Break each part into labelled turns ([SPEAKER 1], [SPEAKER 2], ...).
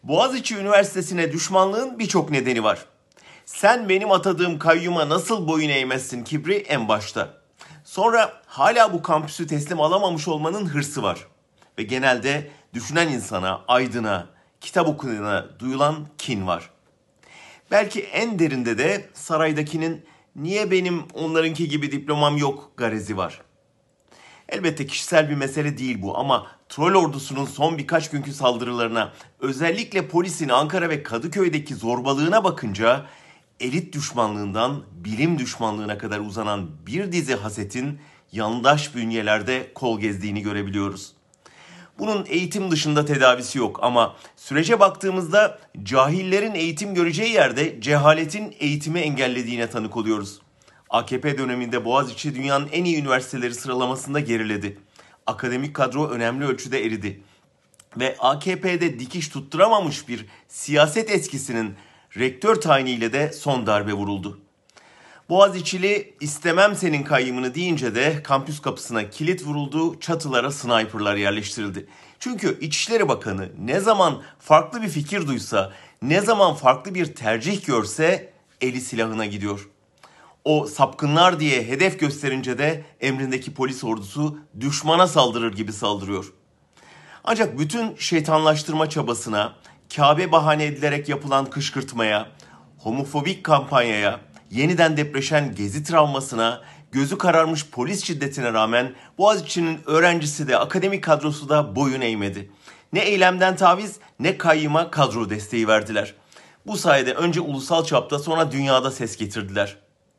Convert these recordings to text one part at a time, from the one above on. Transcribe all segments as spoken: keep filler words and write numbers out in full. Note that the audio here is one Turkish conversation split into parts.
[SPEAKER 1] Boğaziçi Üniversitesi'ne düşmanlığın birçok nedeni var. Sen benim atadığım kayyuma nasıl boyun eğmezsin kibri en başta. Sonra hala bu kampüsü teslim alamamış olmanın hırsı var. Ve genelde düşünen insana, aydına, kitap okuyana duyulan kin var. Belki en derinde de saraydakinin niye benim onlarınki gibi diplomam yok garezi var. Elbette kişisel bir mesele değil bu ama troll ordusunun son birkaç günkü saldırılarına, özellikle polisin Ankara ve Kadıköy'deki zorbalığına bakınca elit düşmanlığından bilim düşmanlığına kadar uzanan bir dizi hasetin yandaş bünyelerde kol gezdiğini görebiliyoruz. Bunun eğitim dışında tedavisi yok ama sürece baktığımızda cahillerin eğitim göreceği yerde cehaletin eğitimi engellediğine tanık oluyoruz. A K P döneminde Boğaziçi dünyanın en iyi üniversiteleri sıralamasında geriledi. Akademik kadro önemli ölçüde eridi. Ve A K P'de dikiş tutturamamış bir siyaset eskisinin rektör tayiniyle de son darbe vuruldu. Boğaziçi'li istemem senin kayyımını deyince de kampüs kapısına kilit vuruldu, çatılara sniperlar yerleştirildi. Çünkü İçişleri Bakanı ne zaman farklı bir fikir duysa, ne zaman farklı bir tercih görse eli silahına gidiyor. O sapkınlar diye hedef gösterince de emrindeki polis ordusu düşmana saldırır gibi saldırıyor. Ancak bütün şeytanlaştırma çabasına, Kabe bahane edilerek yapılan kışkırtmaya, homofobik kampanyaya, yeniden depreşen gezi travmasına, gözü kararmış polis şiddetine rağmen Boğaziçi'nin öğrencisi de akademik kadrosu da boyun eğmedi. Ne eylemden taviz ne kayyıma kadro desteği verdiler. Bu sayede önce ulusal çapta sonra dünyada ses getirdiler.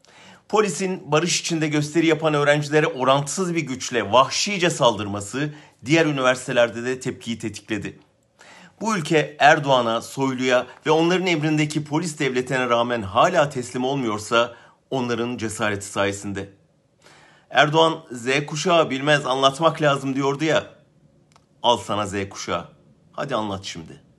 [SPEAKER 1] Polisin barış içinde gösteri yapan öğrencilere orantısız bir güçle vahşice saldırması diğer üniversitelerde de tepkiyi tetikledi. Bu ülke Erdoğan'a, Soylu'ya ve onların emrindeki polis devletine rağmen hala teslim olmuyorsa onların cesareti sayesinde. Erdoğan Z kuşağı bilmez anlatmak lazım diyordu ya. Al sana Z kuşağı. Hadi anlat şimdi.